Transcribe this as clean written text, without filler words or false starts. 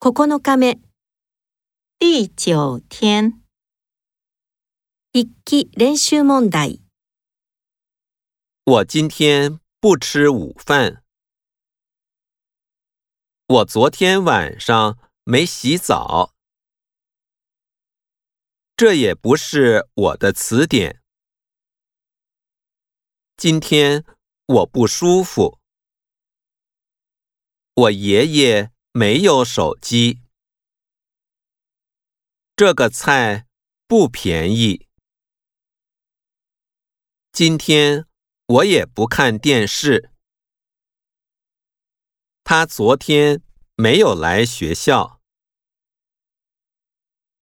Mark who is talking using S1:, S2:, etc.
S1: 9日目、
S2: 第9天。
S1: 筆記練習問題。
S3: 我今天不吃午饭。我昨天晚上没洗澡。这也不是我的词典。今天我不舒服。我爷爷没有手机。这个菜不便宜。今天我也不看电视。他昨天没有来学校。